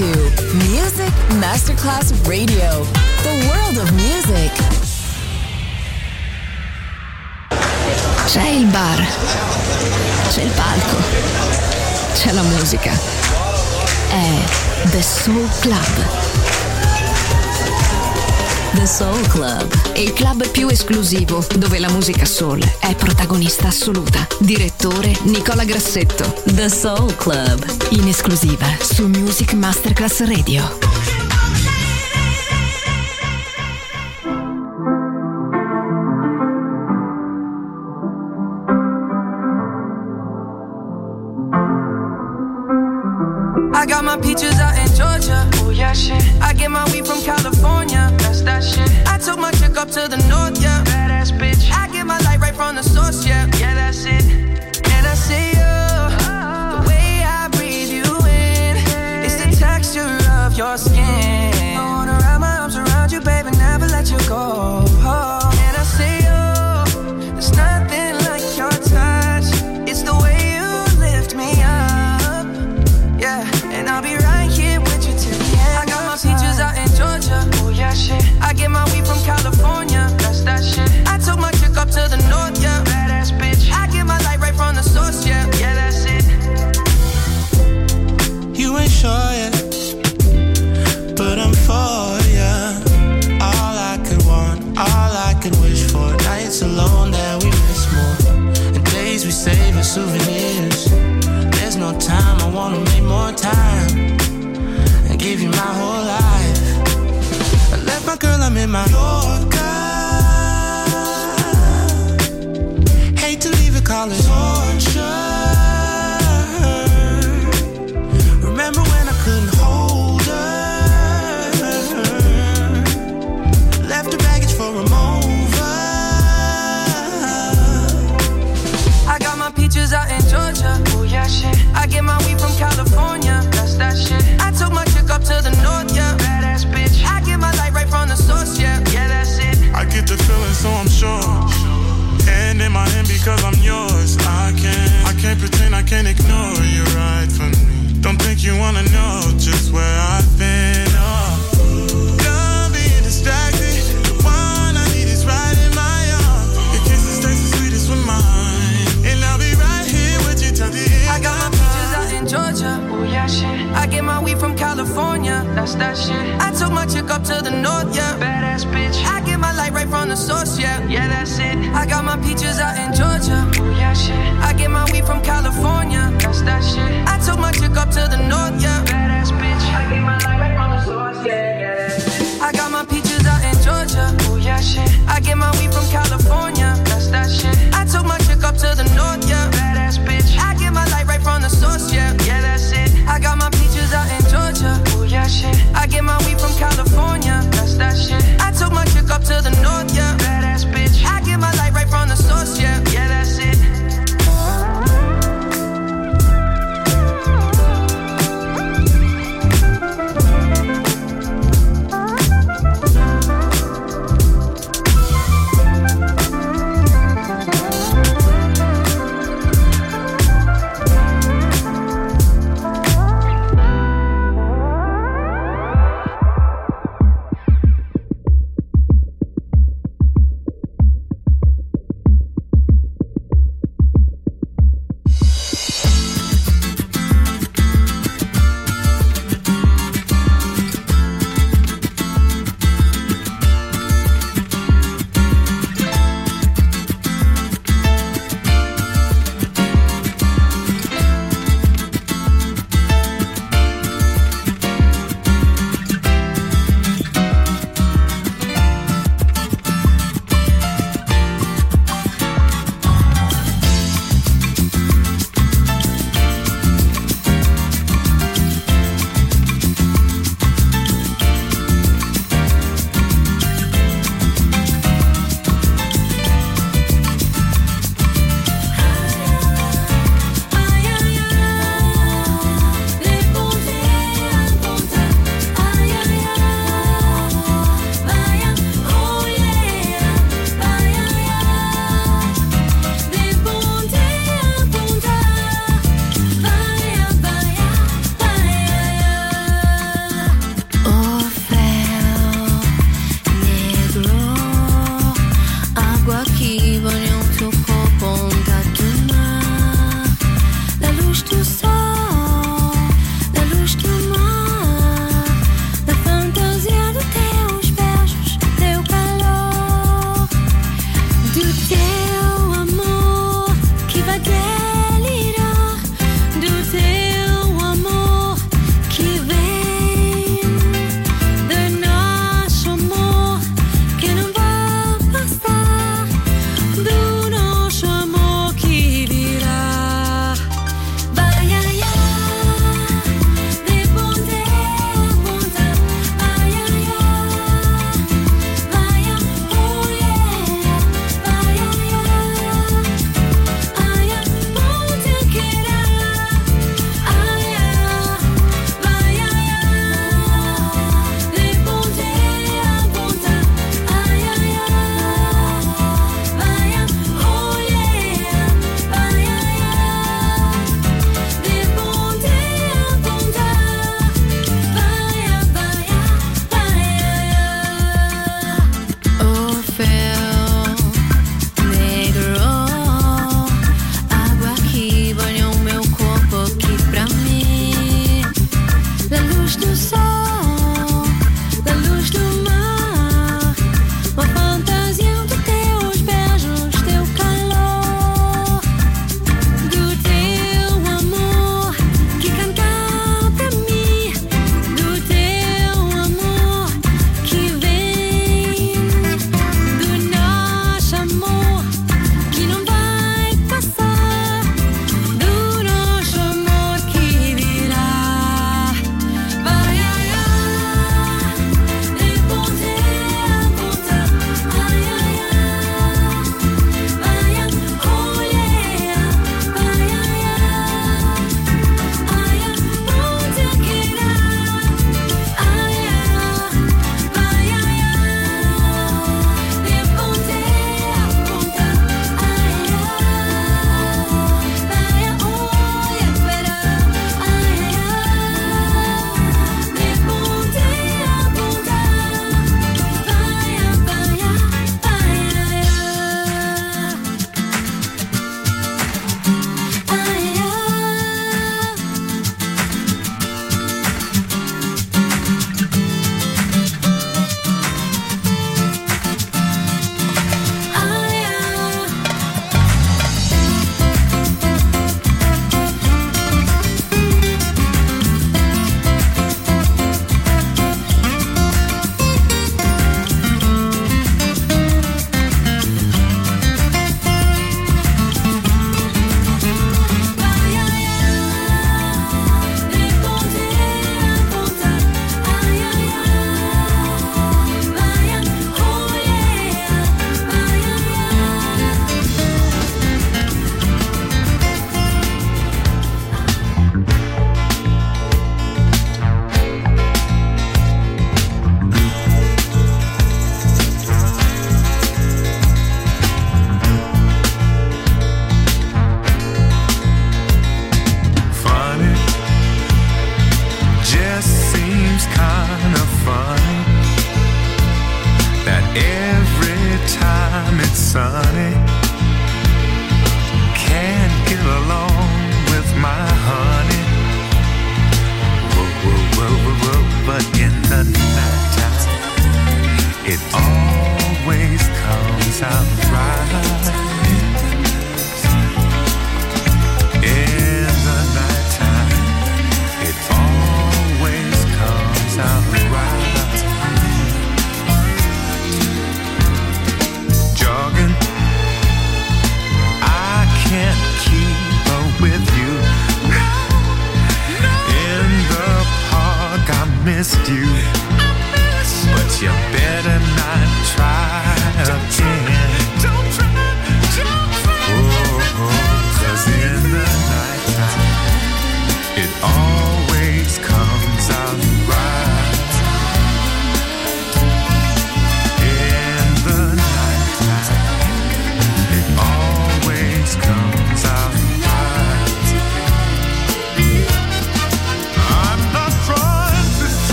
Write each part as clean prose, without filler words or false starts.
to Music Masterclass Radio, the world of music. C'è il bar, c'è il palco, c'è la musica. È The Soul Club. The Soul Club, il club più esclusivo dove la musica soul è protagonista assoluta. Direttore Nicola Grassetto. The Soul Club, in esclusiva su Music Masterclass Radio. I got my peaches out in Georgia. Oh yeah, shit. I get my weed from California. That's that shit. I took my chick up to the north, yeah. Badass bitch. I get my light right from the source, yeah. Yeah, that's it. And I say, the way I breathe you in, it's the texture of your skin. I wanna wrap my arms around you, baby, never let you go. And I say, there's nothing like your touch. It's the way you lift me up, yeah. And I'll be right here with you till the end. I got my peaches out in Georgia. Oh yeah, shit. I get my weed from California. That's that shit. I took my chick up to the north, yeah. Badass bitch. I get my light right from the source, yeah. Yeah, that's it. You ain't sure yet, but I'm for ya. All I could want, all I could wish for. Nights alone that we miss more, and days we save as souvenirs. There's no time, I wanna make more time and give you my whole life. I left my girl, I'm in my Yorker. Hate to leave it, call it torture. Remember when I couldn't hold her? Left her baggage for a mover. I got my peaches out in Georgia. Oh yeah, shit. I get my weed from California. That's that shit. I took my chick up to the north, yeah. Badass bitch. I get my light right from the source, yeah. Yeah, that's it. I get the feeling, so I'm sure. And in my hand because I'm yours. I can't pretend, I can't ignore you right from me. Don't think you wanna know just where I've been. Done being distracted. The one I need is right in my arms. Your kisses taste the sweetest with mine. And I'll be right here with you till the end. I got my peaches out in Georgia. Oh yeah, shit. I get my weed from California. That's that shit. I took my chick up to the north, yeah. Badass bitch. I get my light right from the source, yeah. Yeah, that's it. I got my peaches out in Georgia. Oh yeah, shit. I get my weed from California. That's that shit. I took my chick up to the north, yeah. Badass bitch. I get my light right from the source, yeah. Yeah, that's it. I got my peaches out in Georgia. Oh yeah, shit. I get my weed from California. That's that shit. I took my chick up to the north, yeah. Badass bitch. I get my light right from the source, yeah. Yeah, that's it. I got my peaches out in Georgia. Oh yeah, shit. I get my weed from California. That's that shit. I took my chick up to the north, yeah. Badass bitch. I get my light right from the source, yeah. Yeah, that's it.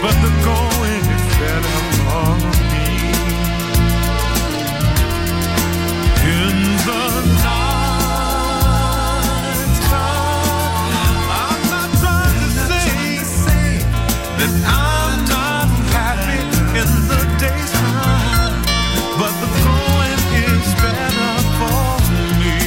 but the going is better for me. In the night time, I'm not trying to say that I'm not happy in the daytime, but the going is better for me.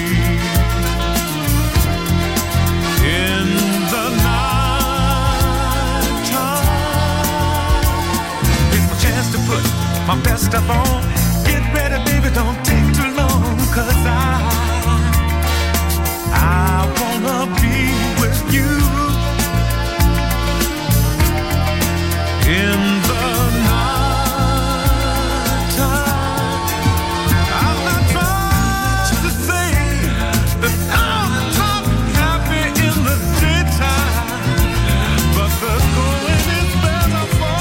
In the night time, it's my chance to put my best stuff on. Get ready, baby, don't take too long, 'cause I wanna be with you. In the night time, I'm not trying to say that I'm not happy in the daytime, but the going is better for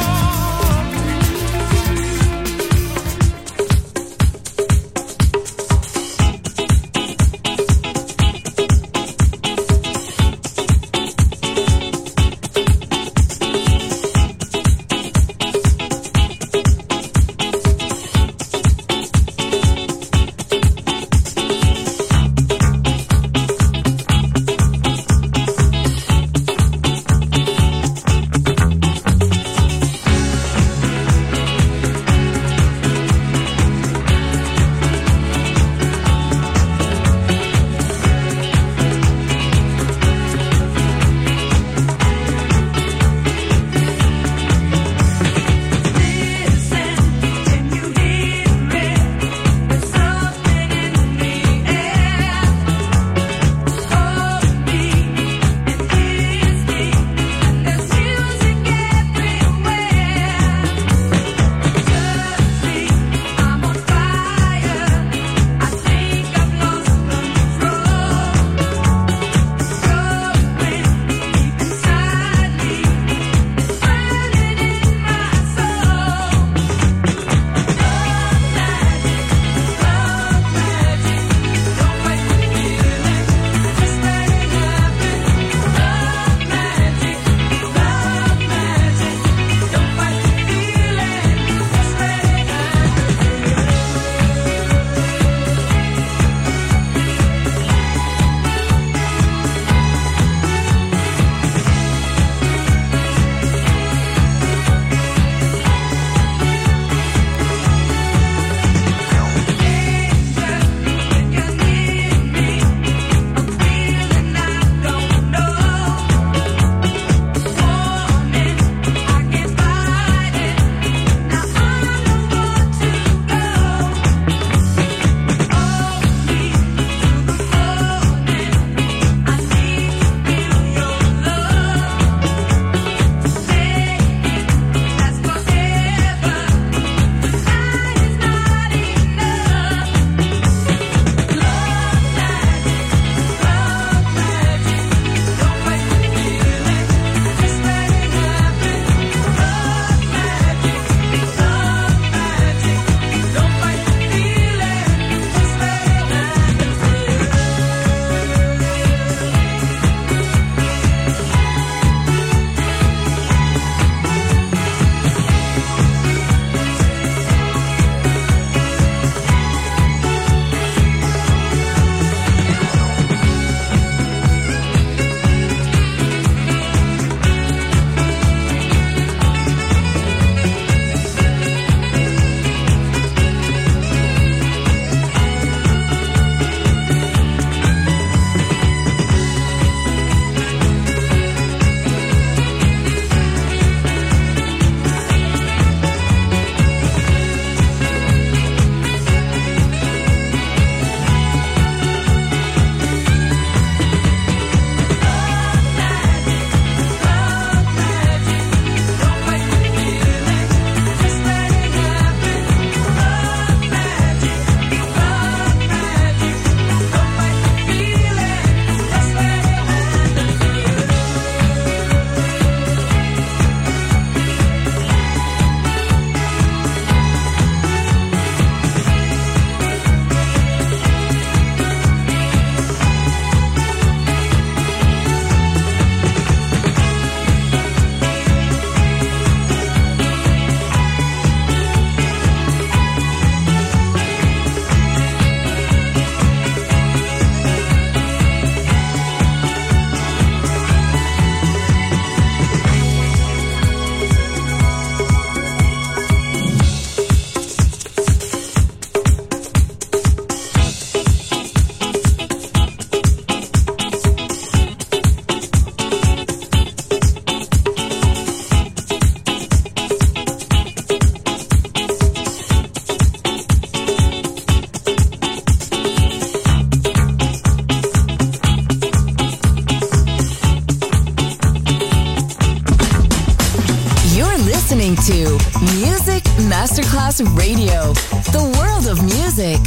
listening to Music Masterclass Radio, the world of music.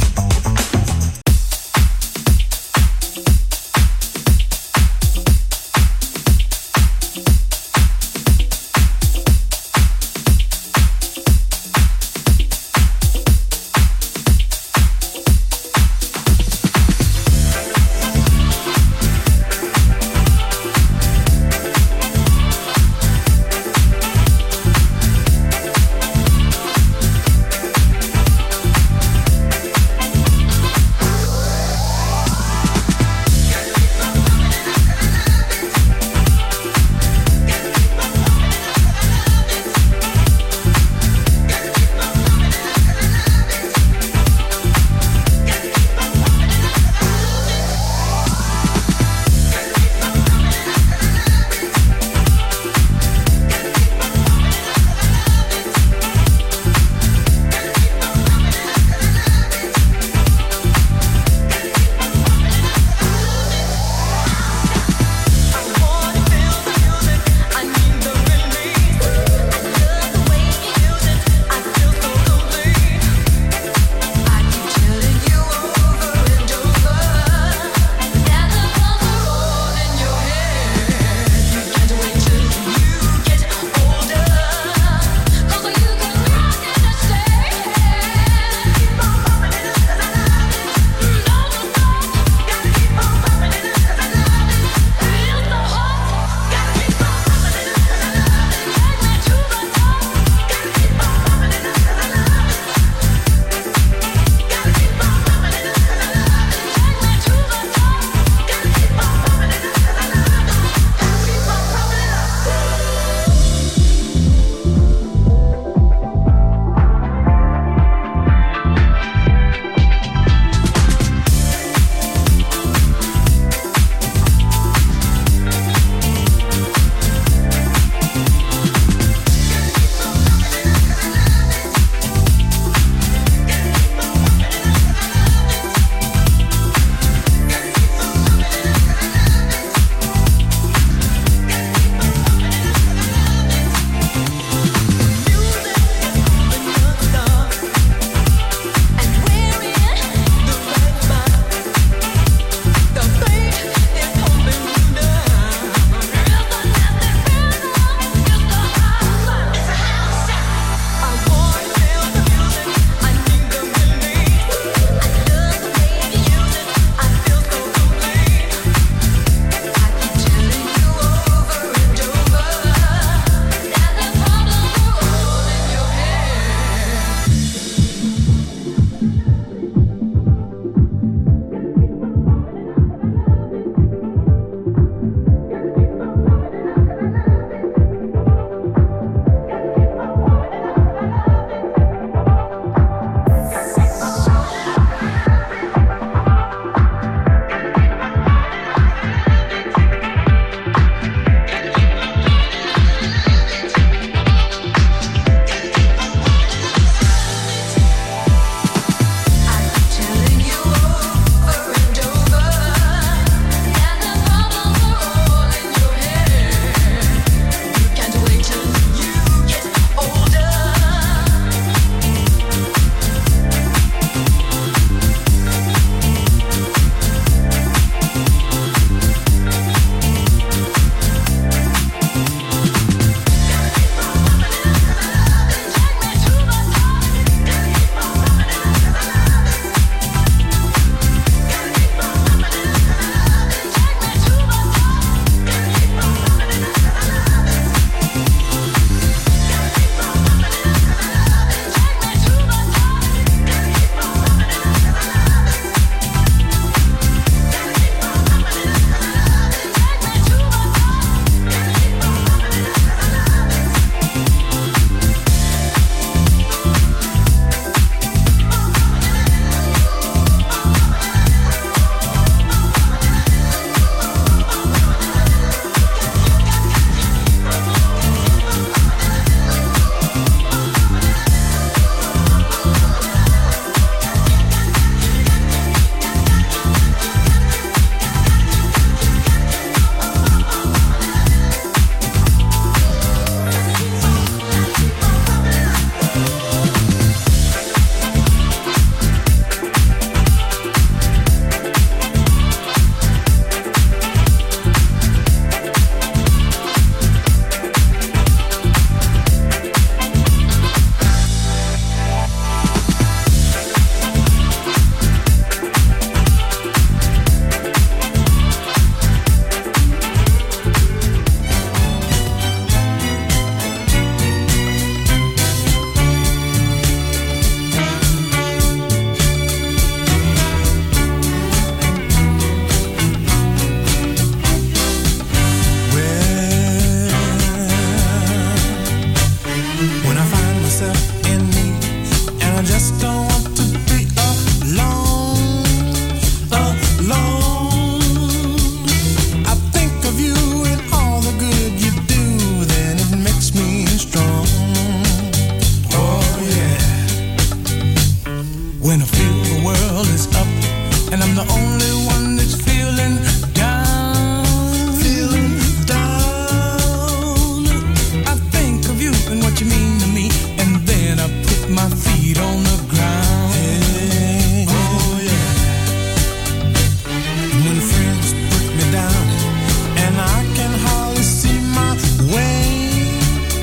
myself in me, and I just don't want to be alone, alone. I think of you and all the good you do, then it makes me strong. Oh yeah. When I feel the world is up and I'm the only one that's feeling down, feeling down, I think of you and what you mean to me, and then I put my feet on the ground. Hey, oh yeah. When friends put me down and I can hardly see my way,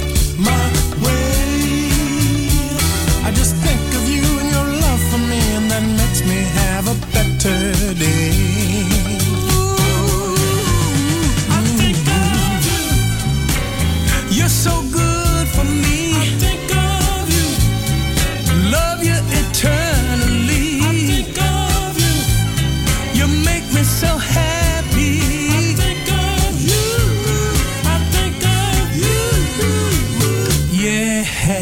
I just think of you and your love for me, and that makes me have a better day. I think of you. You're so good for me. I think of you. Love you eternally. I think of you. You make me so happy. I think of you. I think of you. Yeah.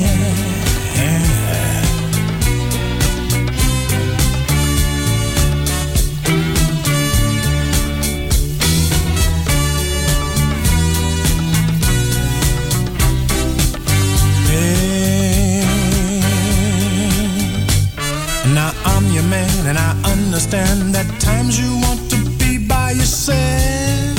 Now I'm your man and I understand that times you want to be by yourself,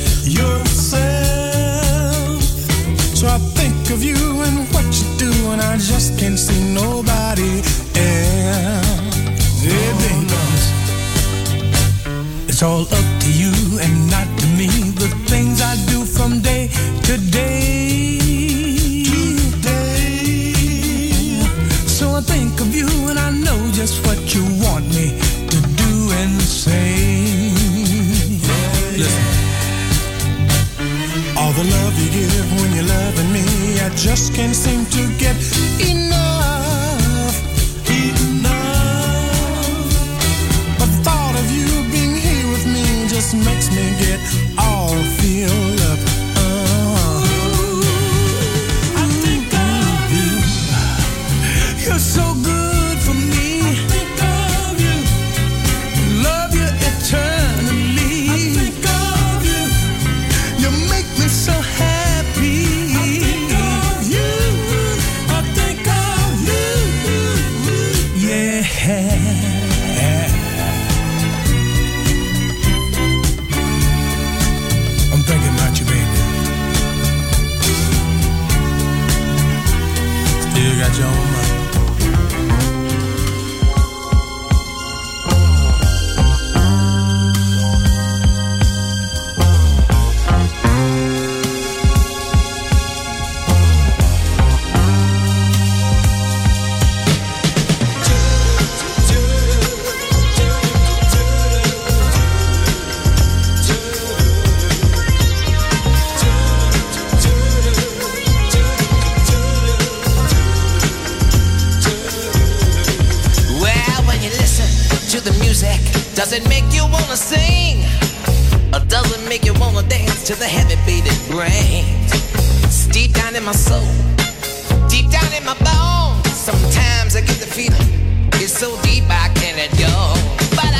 so I think of you and what you do, and I just can't see nobody else. Yeah, baby. It's all up to you and not to me, the things I do from day to day. So I think of you and I know just what you want me to do and say. Listen, all the love you give when you're loving me, I just can't seem to get enough. The thought of you being here with me just makes me get all filled up. I think of you. You're so good for me. I think of you. Love you eternally. I think of you. You make me so happy. I think of you. I think of you. Yeah. I'm thinking about you, baby. Still got your own mind. Does it make you wanna sing? Or does it make you wanna dance to the heavy beating brains? It's deep down in my soul, deep down in my bones. Sometimes I get the feeling, it's so deep I can't let go. But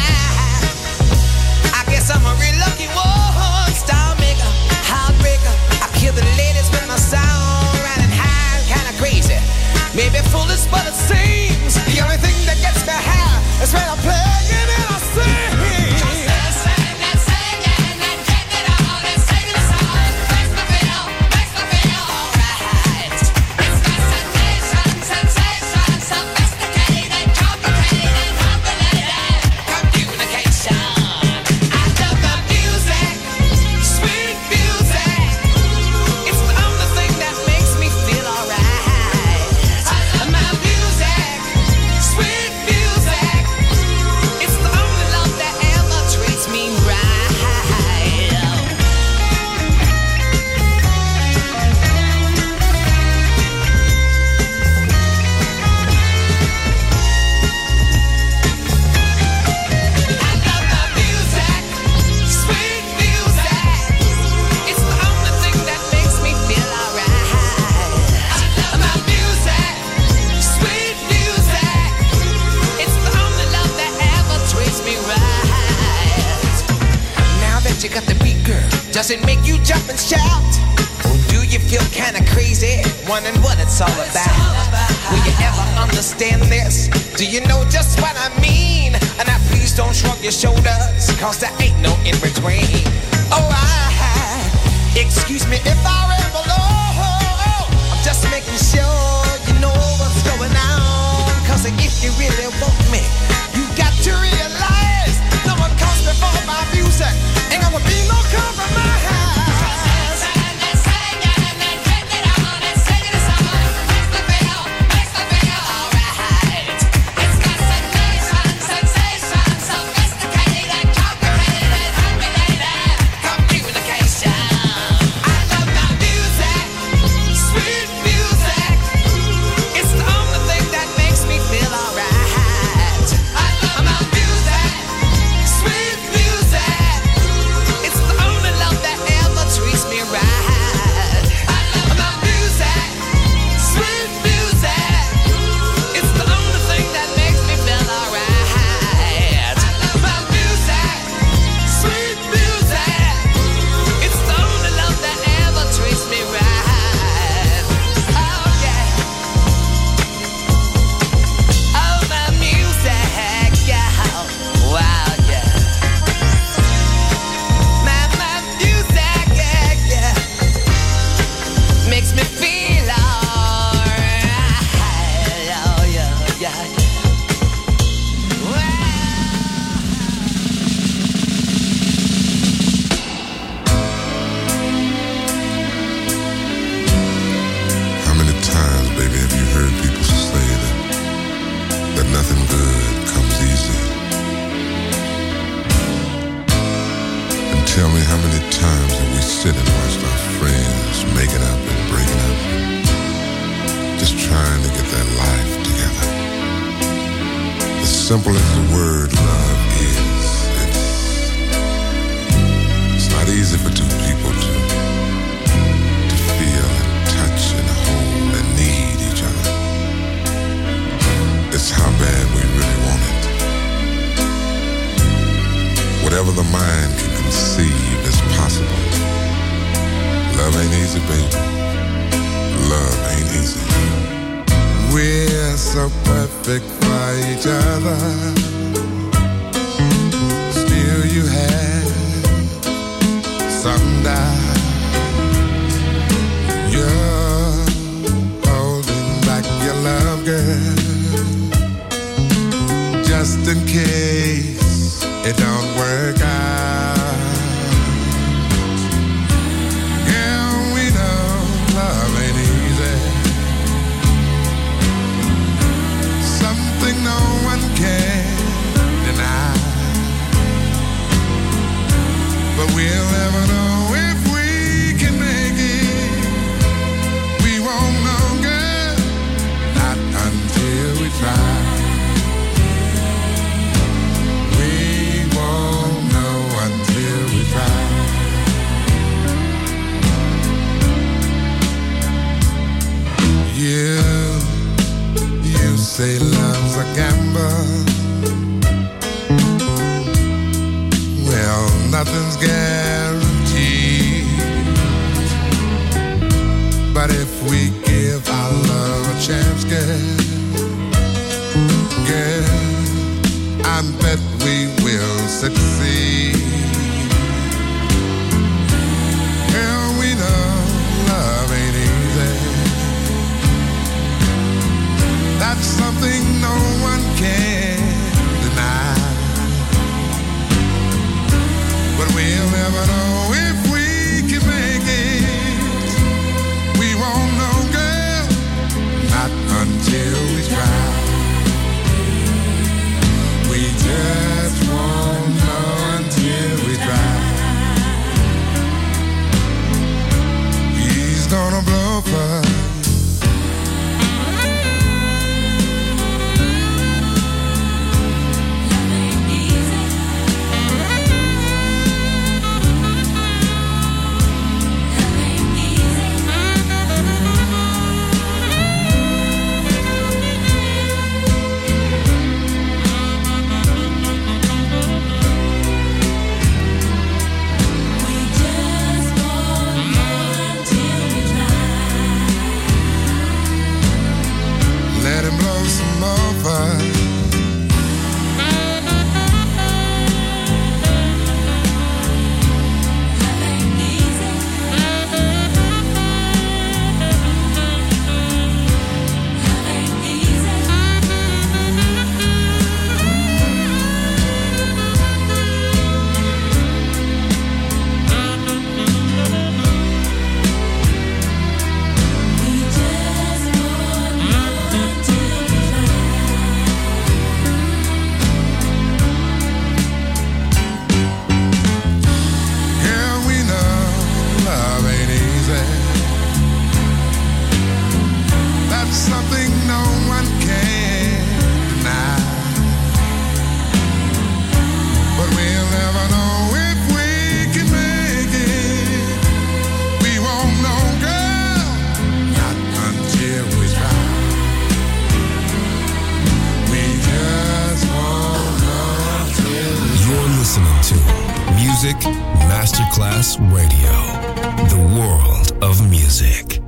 I guess I'm a real lucky one. Star maker, heartbreaker. I kill the ladies with my sound, riding high, kinda crazy. Maybe foolish, but it seems the only thing that gets me high is when I'm playing and I sing. Makes me feel alright. It's got something Does it make you jump and shout? Or do you feel kinda crazy, wondering what it's all about? Will you ever understand this? Do you know just what I mean? And now please don't shrug your shoulders, cause there ain't no in between. Oh, excuse me if I ramble on. I'm just making sure you know what's going on. Cause if you really want me, you got to realize no one comes before my music. Ain't gonna be no compromise. Simple as the word love is, it's not easy for two people to feel and touch and hold and need each other. It's how bad we really want it. Whatever the mind can conceive is possible. Love ain't easy, baby. Love ain't easy. We're so perfect for each other. Still you have some doubt. You're holding back your love, girl, just in case it don't work out. Yeah, we know love ain't easy. Something no one can deny. But we'll never know if we can make it. We won't know, girl, not until we try. We won't know until we try. You say love's a gamble. Well, nothing's guaranteed. But if we give our love a chance, girl, I bet we will succeed. Girl, we know love ain't easy. That's something no one can deny. But we'll never know if we can make it. We won't know, girl, not until we try. We just won't know until we try. He's gonna blow for Music Masterclass Radio. The world of music.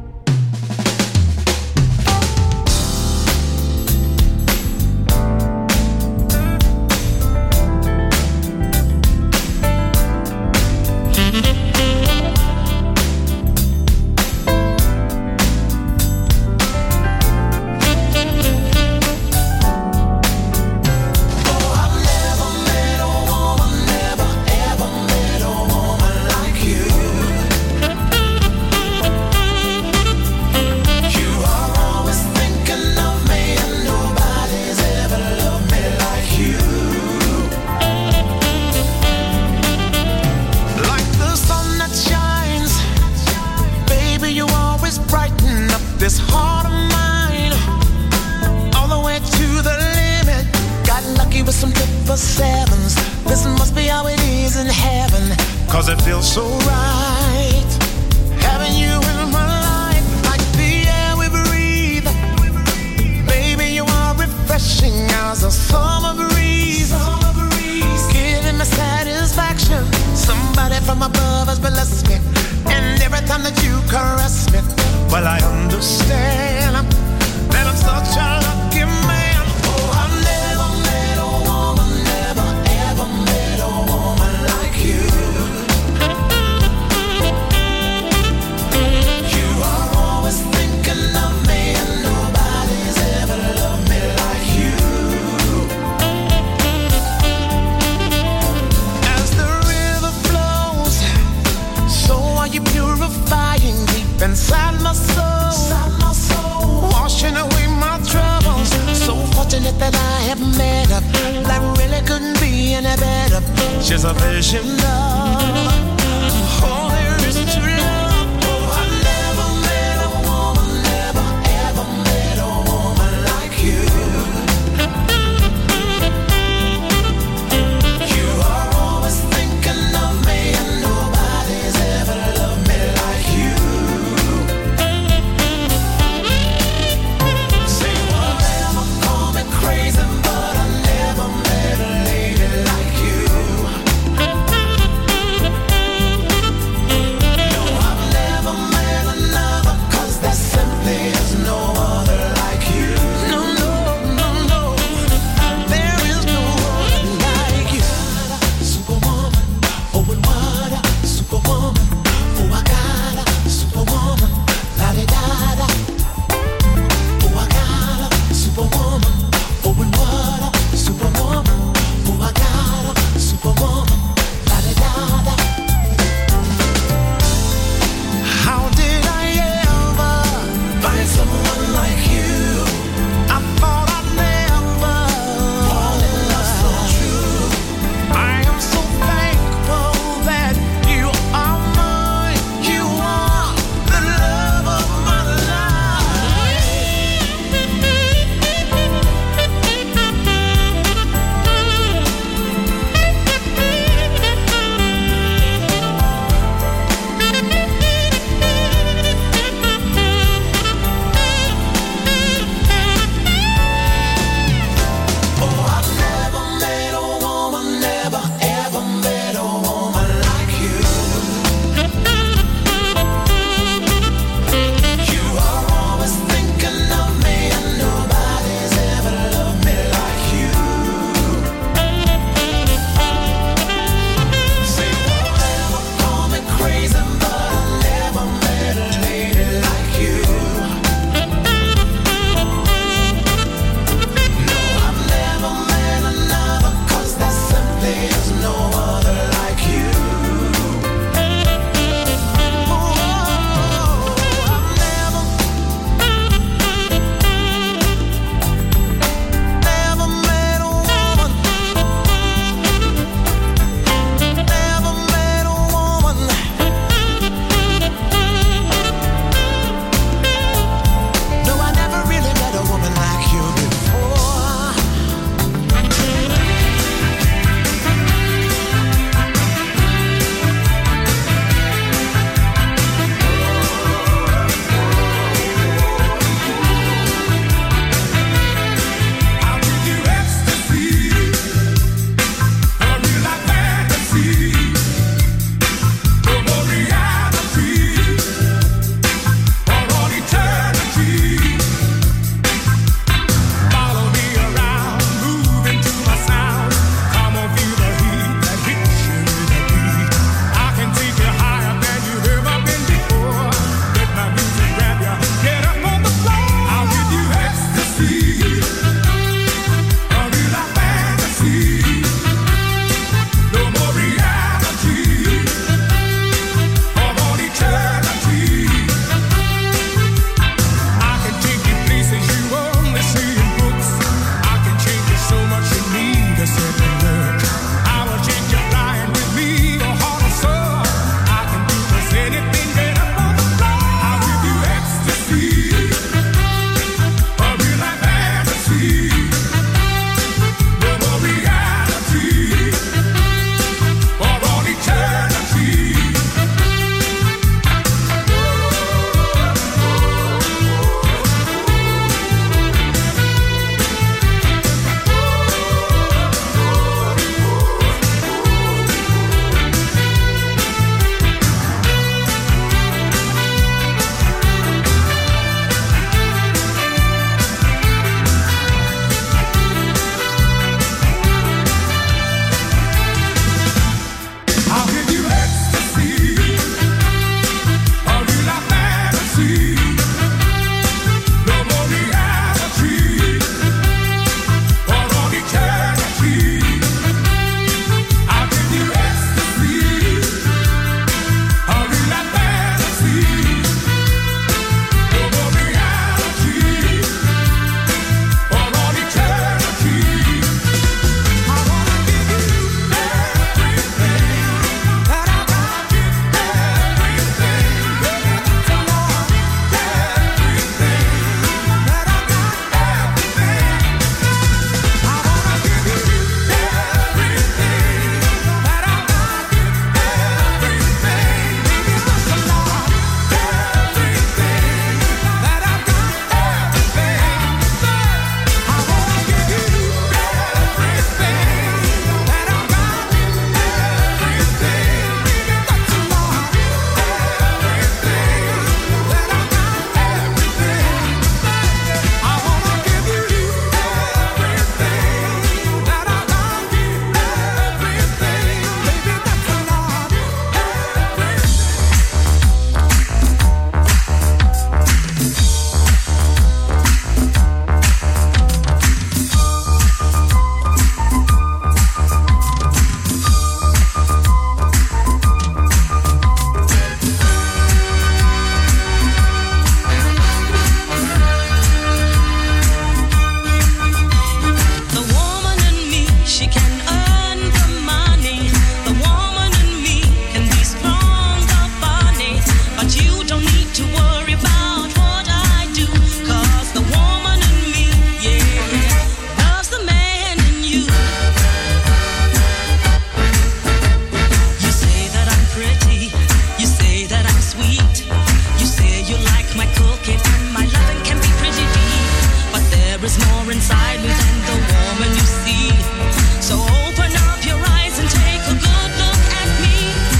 There is more inside me than the woman you see. So open up your eyes and take a good look at me.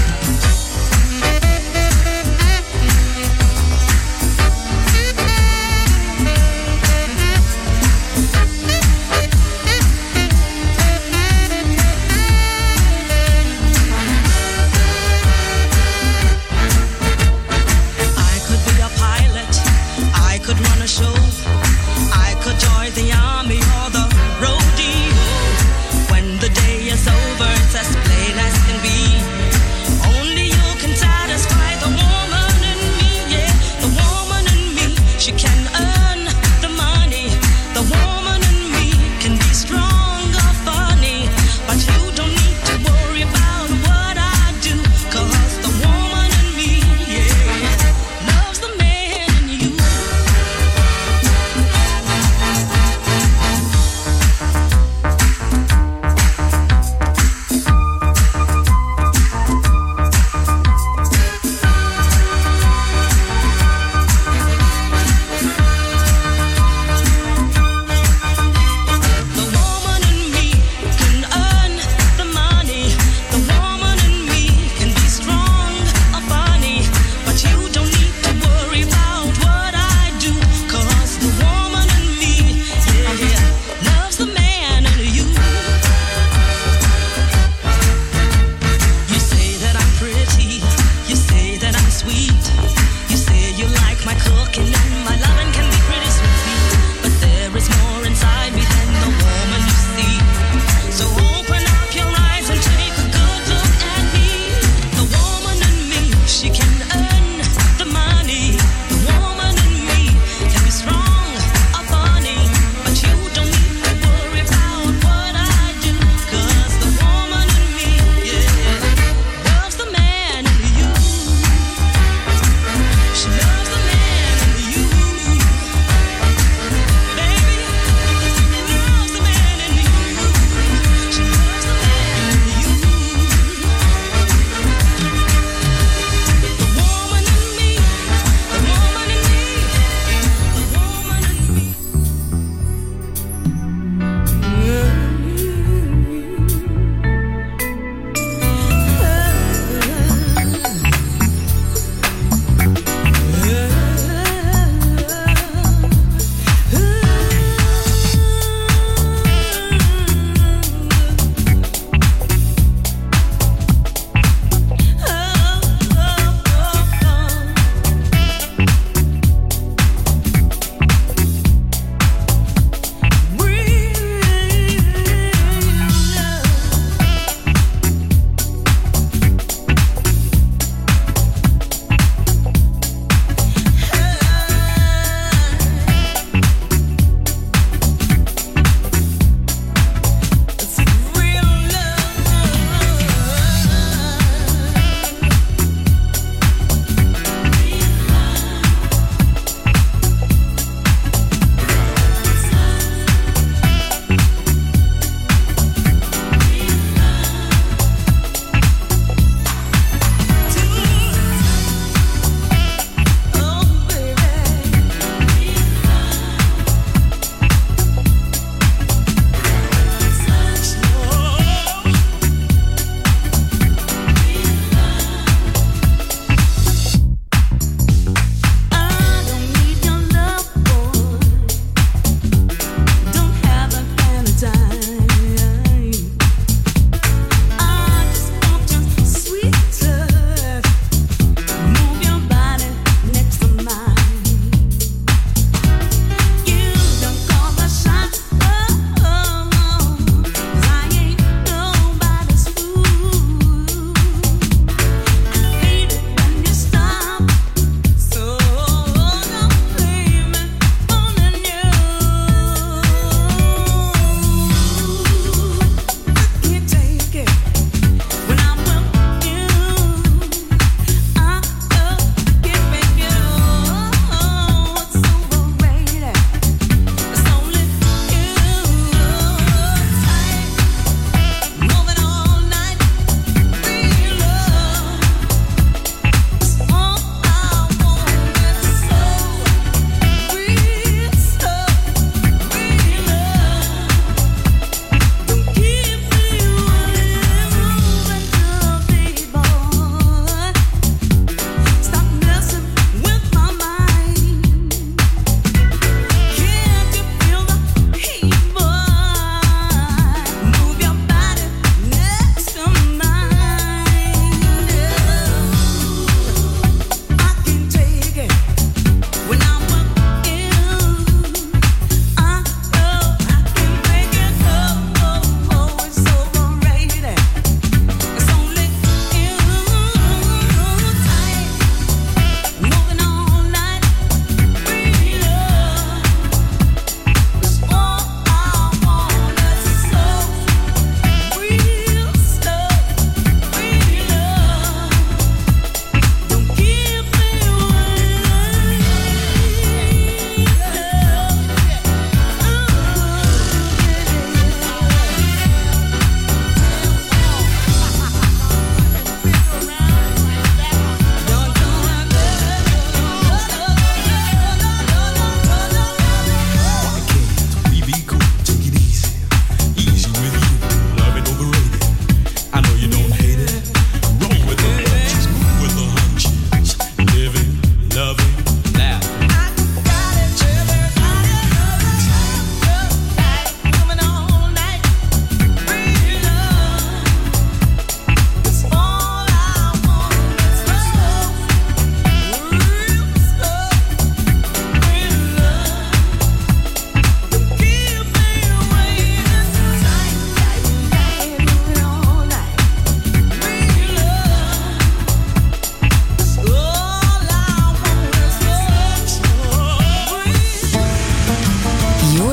I could be a pilot, I could run a show, I could join the army or the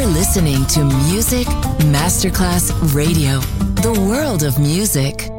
listening to Music Masterclass Radio, the world of music.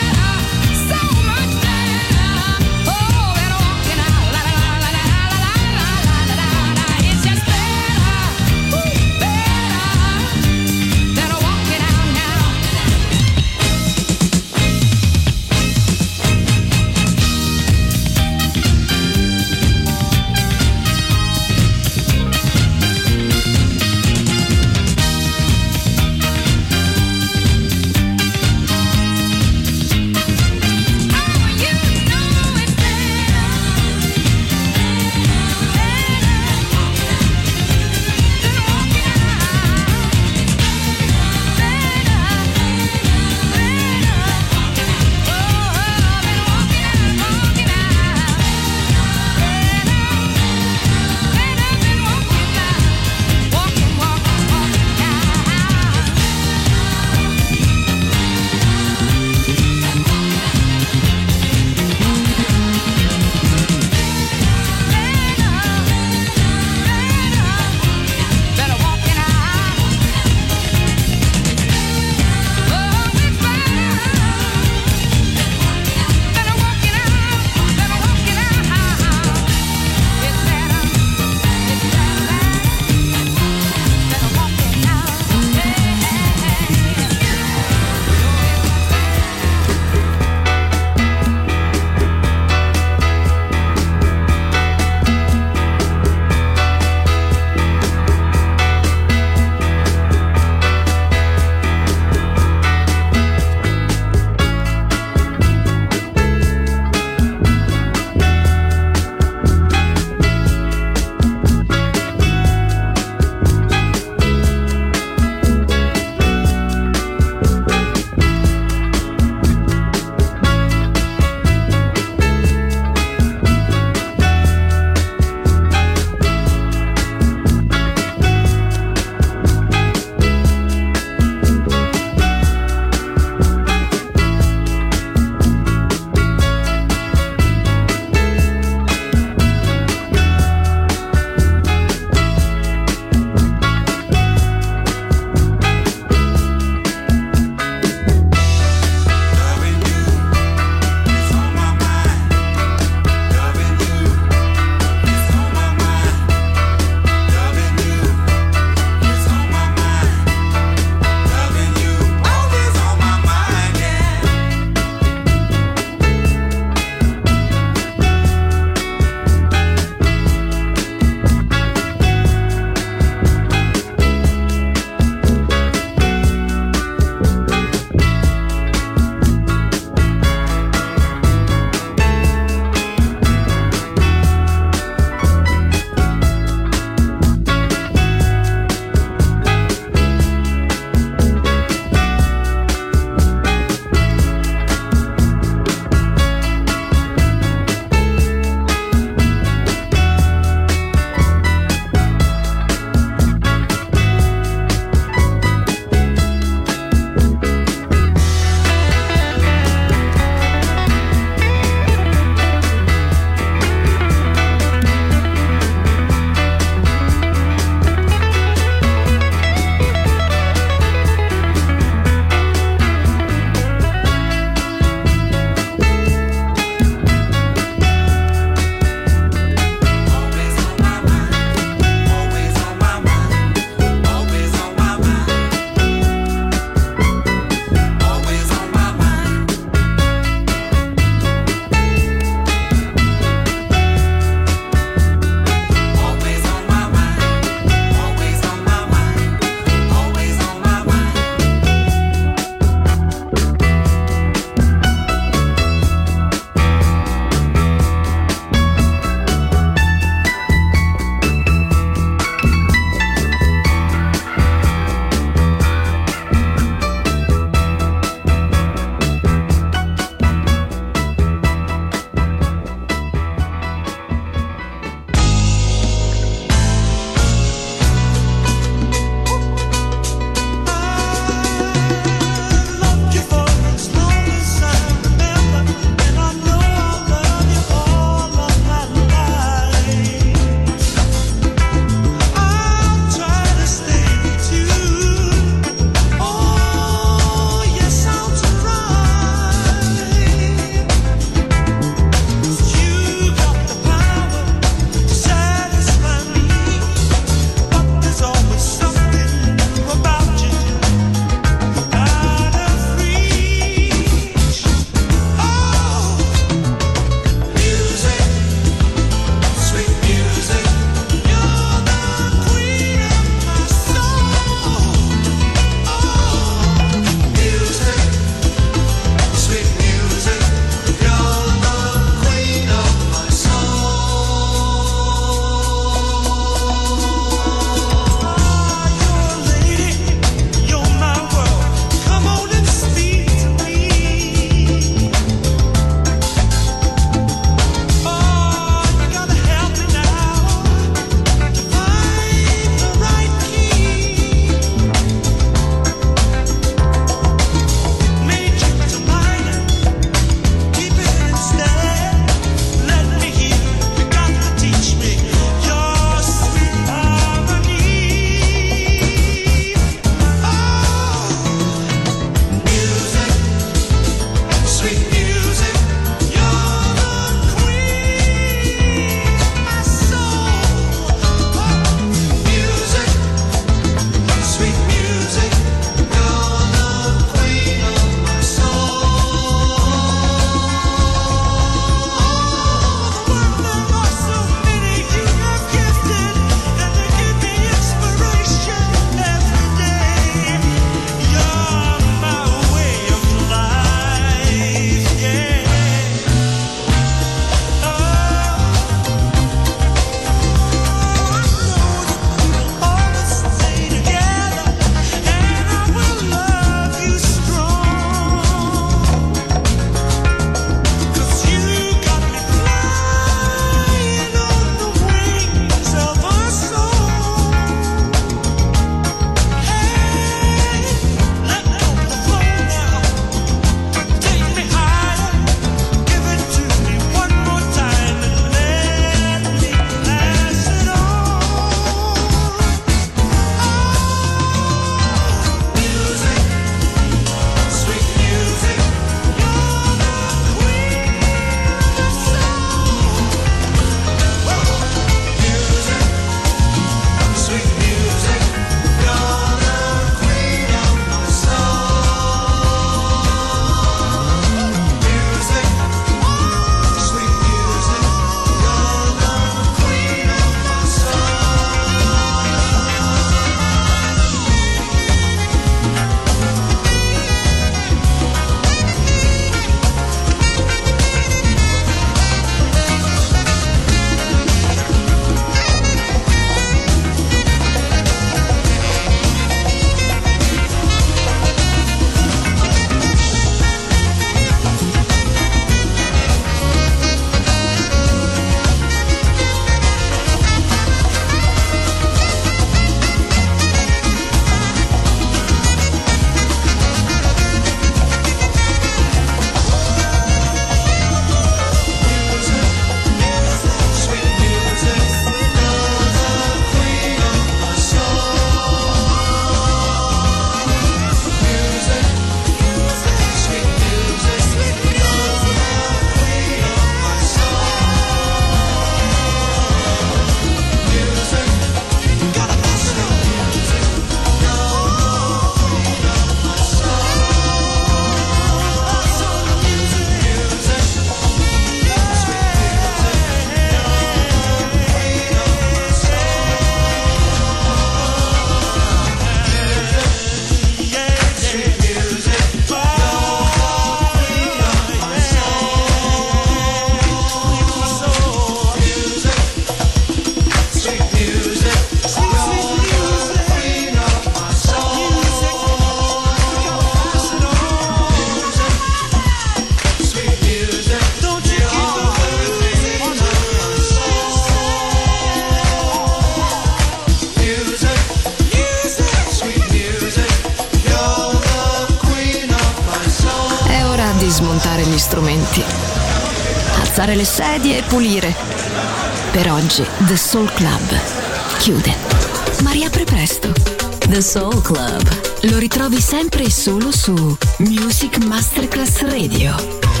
smontare gli strumenti, alzare le sedie e pulire. Per oggi The Soul Club chiude, ma riapre presto. The Soul Club lo ritrovi sempre e solo su Music Masterclass Radio.